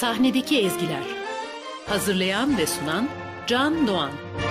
Sahnedeki Ezgiler. Hazırlayan ve sunan Can Doğan.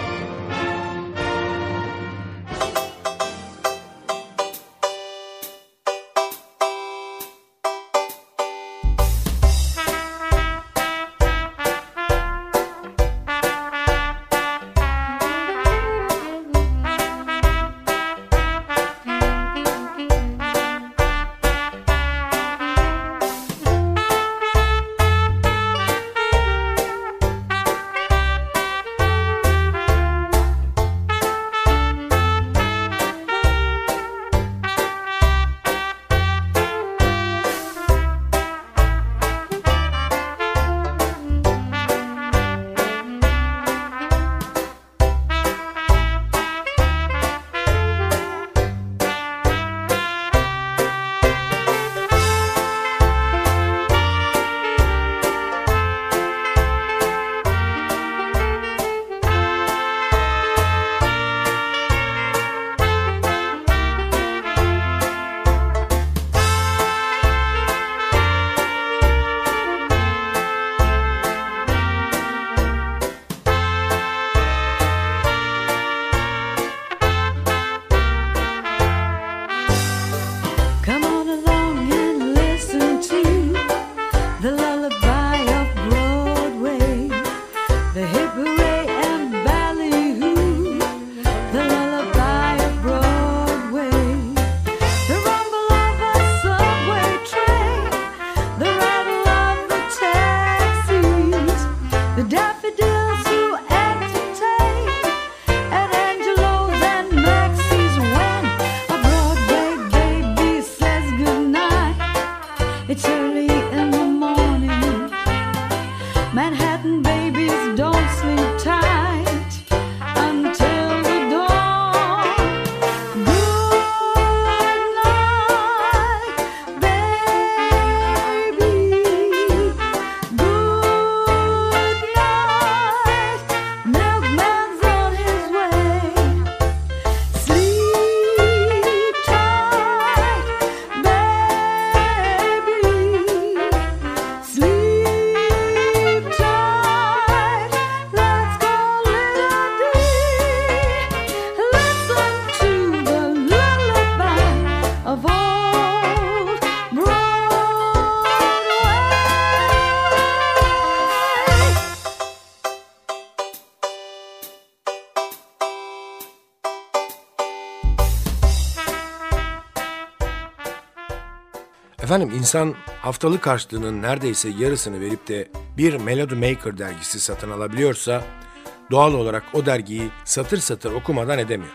Efendim, insan haftalık harçlığının neredeyse yarısını verip de bir Melody Maker dergisi satın alabiliyorsa doğal olarak o dergiyi satır satır okumadan edemiyor.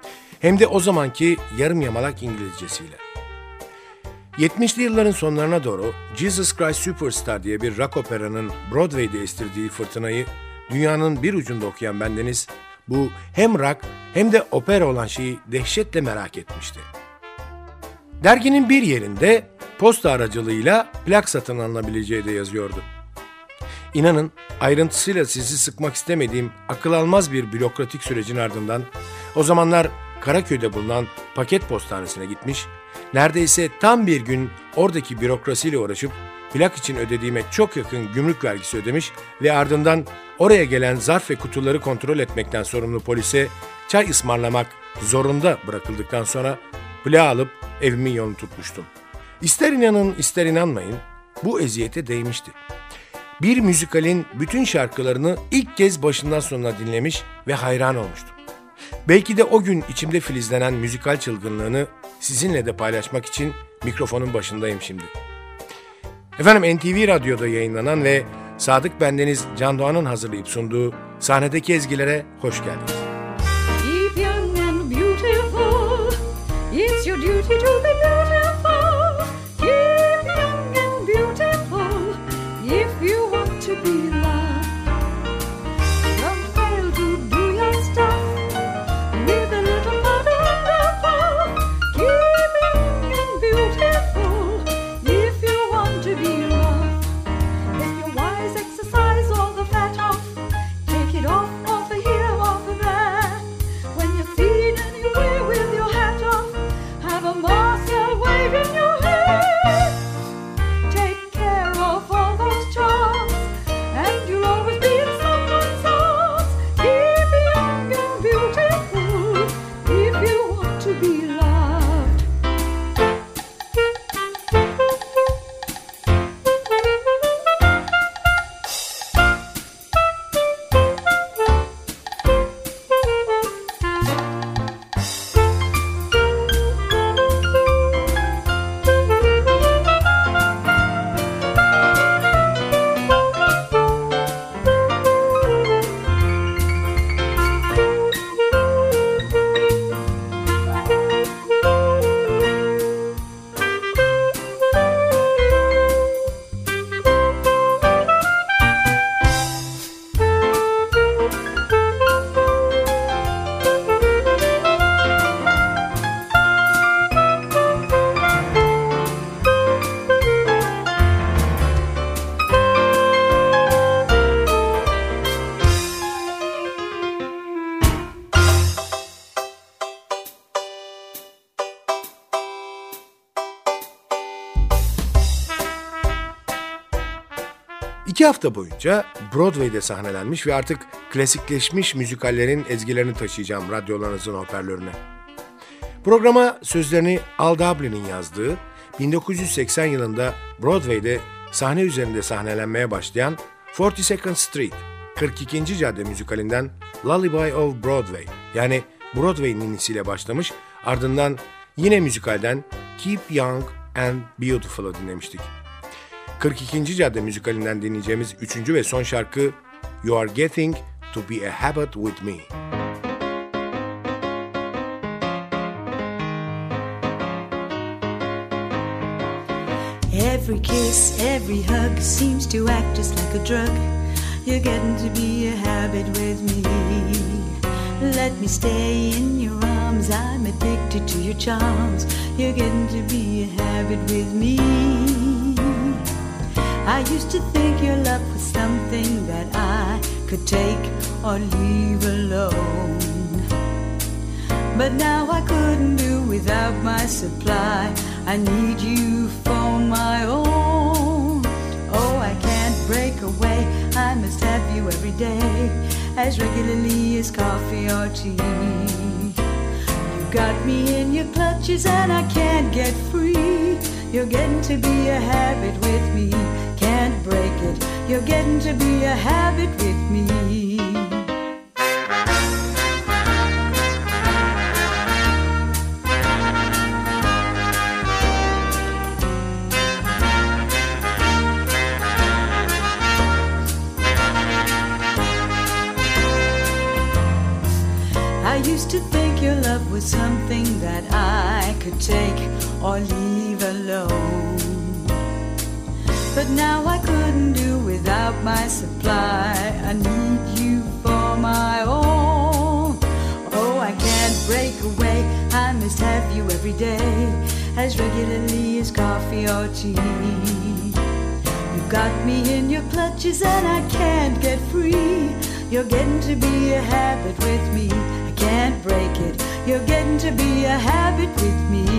Hem de o zamanki yarım yamalak İngilizcesiyle. 70'li yılların sonlarına doğru Jesus Christ Superstar diye bir rock operanın Broadway'de estirdiği fırtınayı dünyanın bir ucunda okuyan bendeniz bu hem rock hem de opera olan şeyi dehşetle merak etmişti. Derginin bir yerinde posta aracılığıyla plak satın alınabileceği de yazıyordu. İnanın, ayrıntısıyla sizi sıkmak istemediğim akıl almaz bir bürokratik sürecin ardından o zamanlar Karaköy'de bulunan paket postanesine gitmiş, neredeyse tam bir gün oradaki bürokrasiyle uğraşıp plak için ödediğime çok yakın gümrük vergisi ödemiş ve ardından oraya gelen zarf ve kutuları kontrol etmekten sorumlu polise çay ısmarlamak zorunda bırakıldıktan sonra plağı alıp evimin yolunu tutmuştum. İster inanın ister inanmayın, bu eziyete değmişti. Bir müzikalin bütün şarkılarını ilk kez başından sonuna dinlemiş ve hayran olmuştum. Belki de o gün içimde filizlenen müzikal çılgınlığını sizinle de paylaşmak için mikrofonun başındayım şimdi. Efendim, NTV Radyo'da yayınlanan ve Sadık Bendeniz Can Doğan'ın hazırlayıp sunduğu Sahnedeki Ezgilere hoş geldiniz. Keep young and beautiful, it's your duty to be beautiful. Keep young and beautiful, if you want to be loved. Don't fail to do your stuff with a little wonderful. Keep young and beautiful, if you want to be loved. If you're wise, exercise all the fat off. Take it off of here, off of that. 2 hafta boyunca Broadway'de sahnelenmiş ve artık klasikleşmiş müzikallerin ezgilerini taşıyacağım radyolarınızın hoparlörüne. Programa sözlerini Al Dublin'in yazdığı, 1980 yılında Broadway'de sahne üzerinde sahnelenmeye başlayan 42nd Street, 42. Cadde müzikalinden Lullaby of Broadway, yani Broadway ninisiyle başlamış, ardından yine müzikalden Keep Young and Beautiful'ı dinlemiştik. 42. Cadde müzikalinden dinleyeceğimiz 3. ve son şarkı You Are Getting to Be a Habit with Me. Every kiss, every hug seems to act just like a drug. You're getting to be a habit with me. Let me stay in your arms, I'm addicted to your charms. You're getting to be a habit with me. I used to think your love was something that I could take or leave alone. But now I couldn't do without my supply. I need you for my own. Oh, I can't break away, I must have you every day, as regularly as coffee or tea. You got me in your clutches and I can't get free. You're getting to be a habit with me. Can't break it, you're getting to be a habit with me. I used to think your love was something that I could take or leave alone. But now I couldn't do without my supply. I need you for my own. Oh, I can't break away, I must have you every day, as regularly as coffee or tea. You've got me in your clutches and I can't get free. You're getting to be a habit with me. I can't break it, you're getting to be a habit with me.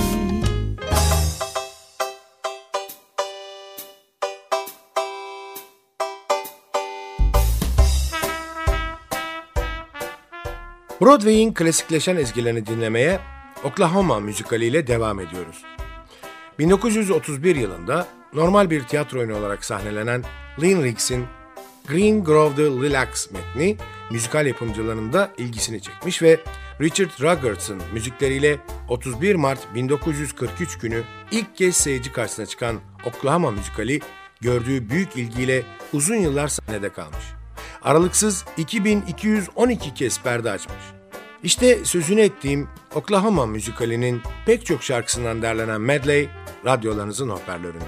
Broadway'in klasikleşen ezgilerini dinlemeye Oklahoma müzikaliyle devam ediyoruz. 1931 yılında normal bir tiyatro oyunu olarak sahnelenen Lynn Riggs'in Green Grove'da Lilacs metni müzikal yapımcılarının da ilgisini çekmiş ve Richard Rogers müzikleriyle 31 Mart 1943 günü ilk kez seyirci karşısına çıkan Oklahoma müzikali gördüğü büyük ilgiyle uzun yıllar sahnede kalmış. Aralıksız 2212 kez perde açmış. İşte sözünü ettiğim Oklahoma müzikalinin pek çok şarkısından derlenen medley radyolarınızın hoparlöründe.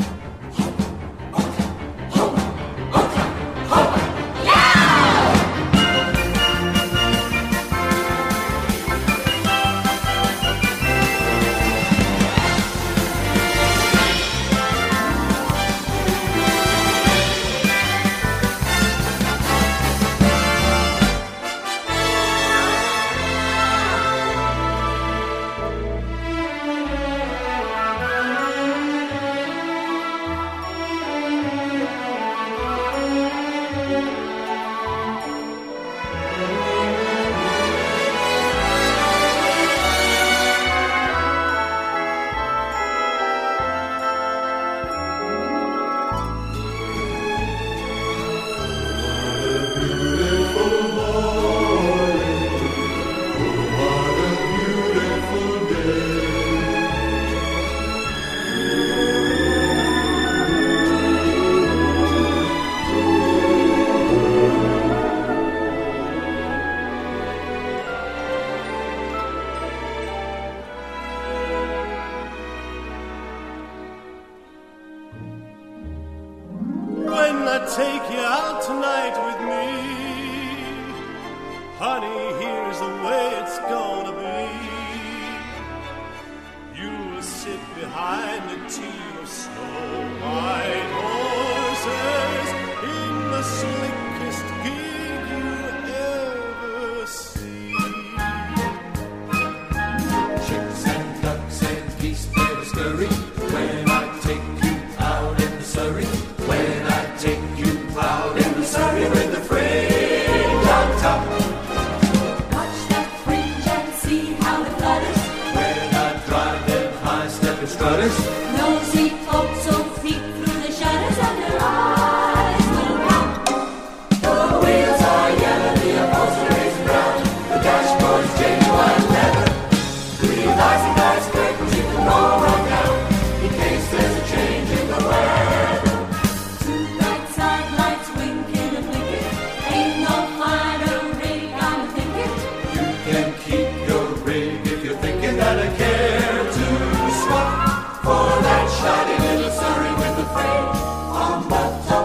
Take you out tonight with me, honey, here's the way it's gonna be. You'll sit behind a team of snow-white horses in the slickest gig you ever see. Chicks and ducks and geese better scurry when I take you out in the Surrey. When I take palace. Nosy folks so peek through the shutters and their eyes will count. The wheels are yellow, the upholstery's brown, the dashboard's genuine leather. Green icy glass curtains you can roll right down in case there's a change in the weather. Two bright side lights winking and blinking. Ain't no finer rig I'm thinking. You can keep your rig if you're thinking that I care to swap for that shoddy little Surrey with the frame on the top.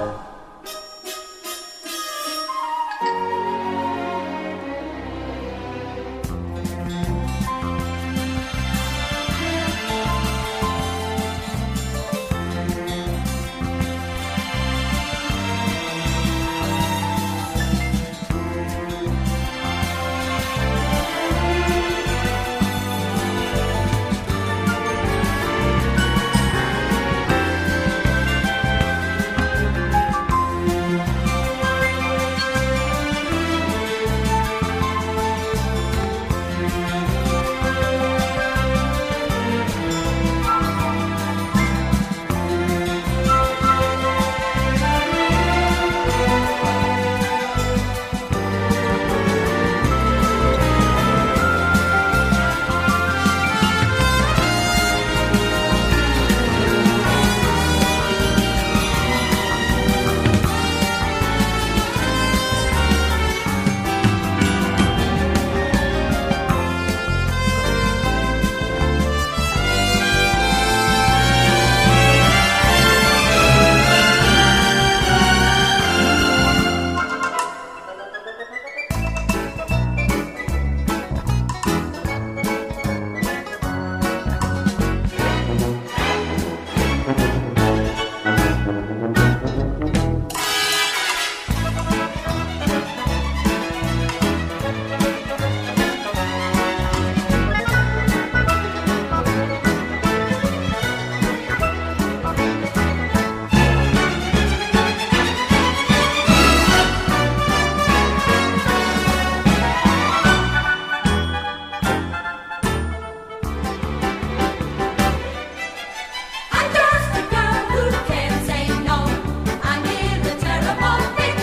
I'm just a girl who can't say no. I'm in a terrible fix.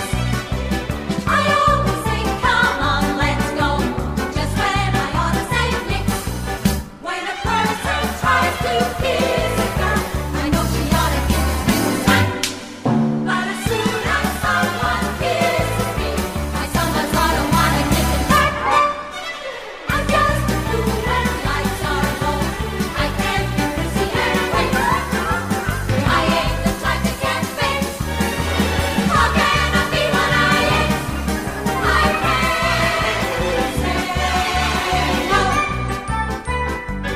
I always say, come on, let's go, just when I ought to say nix. When a person tries to kiss a girl, I know she ought to give it to time. But as soon as someone kisses me, I sometimes ought to want to kiss it back. I'm just a fool when lights are low. I can't be prissy and wait. I ain't the type that can fake. How can I be what I ain't? I can't say no.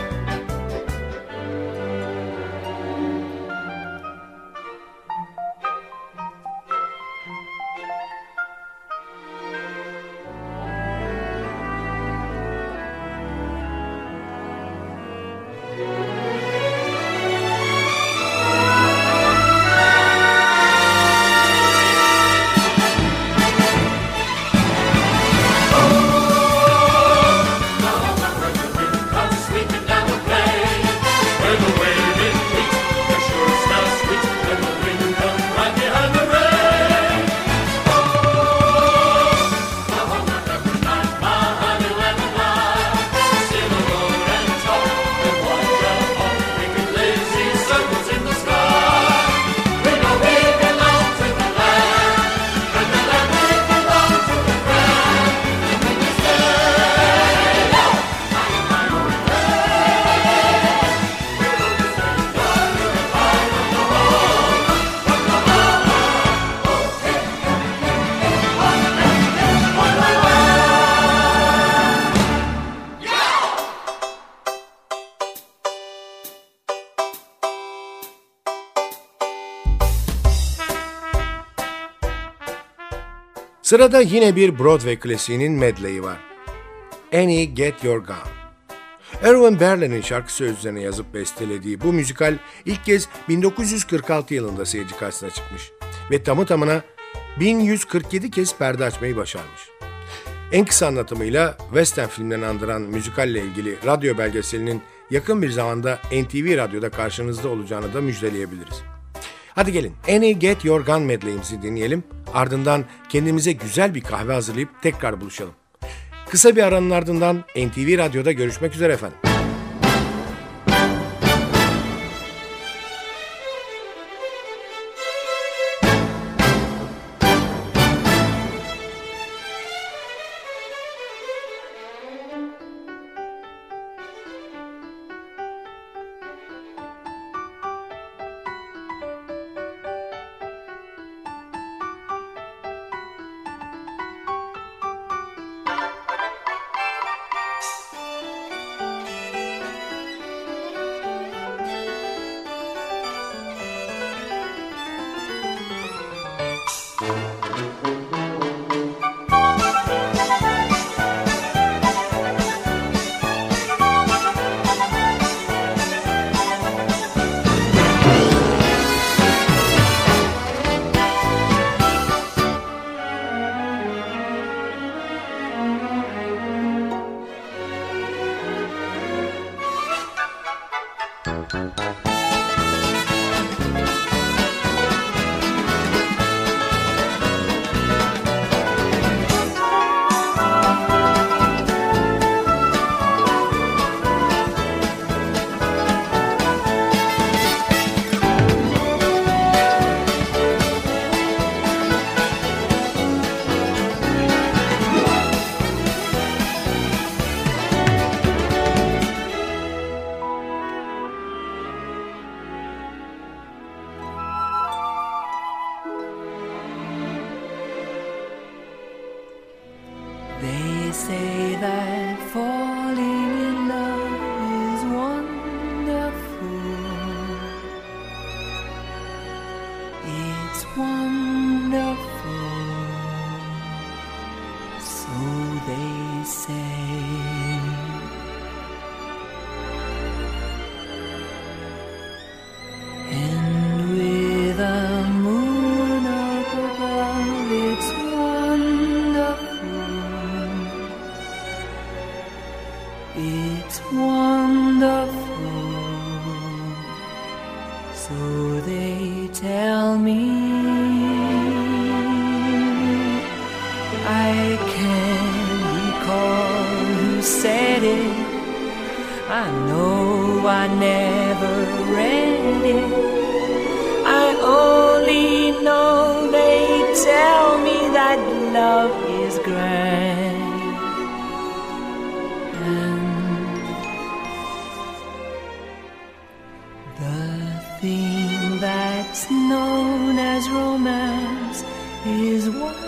Comes sweeping down the plain. Where the waving wheat, the sure smells sweet, and the wind comes right behind the rain. Oh, the home of every night, my honey lemon light. Sail alone and talk, and watch out hawk, making lazy circles in the sky. We know we belong to the land, and the land we belong to the ground. And when you say no, Sırada yine bir Broadway klasiğinin medleyi var. Annie Get Your Gun. Erwin Berlin'in şarkı sözlerini yazıp bestelediği bu müzikal ilk kez 1946 yılında seyirci karşısına çıkmış ve tamı tamına 1147 kez perde açmayı başarmış. En kısa anlatımıyla western filmlerini andıran müzikalle ilgili radyo belgeselinin yakın bir zamanda NTV Radyo'da karşınızda olacağını da müjdeleyebiliriz. Hadi gelin Annie Get Your Gun medley'imizi dinleyelim. Ardından kendimize güzel bir kahve hazırlayıp tekrar buluşalım. Kısa bir aranın ardından NTV Radyo'da görüşmek üzere efendim. They say that falling in love is wonderful. It's wonderful. So they say. And with a moon up above, it's it's wonderful, so they tell me. I can't recall who said it. I know I never read it. I only know they tell me that love is grand. Thing that's known as romance is what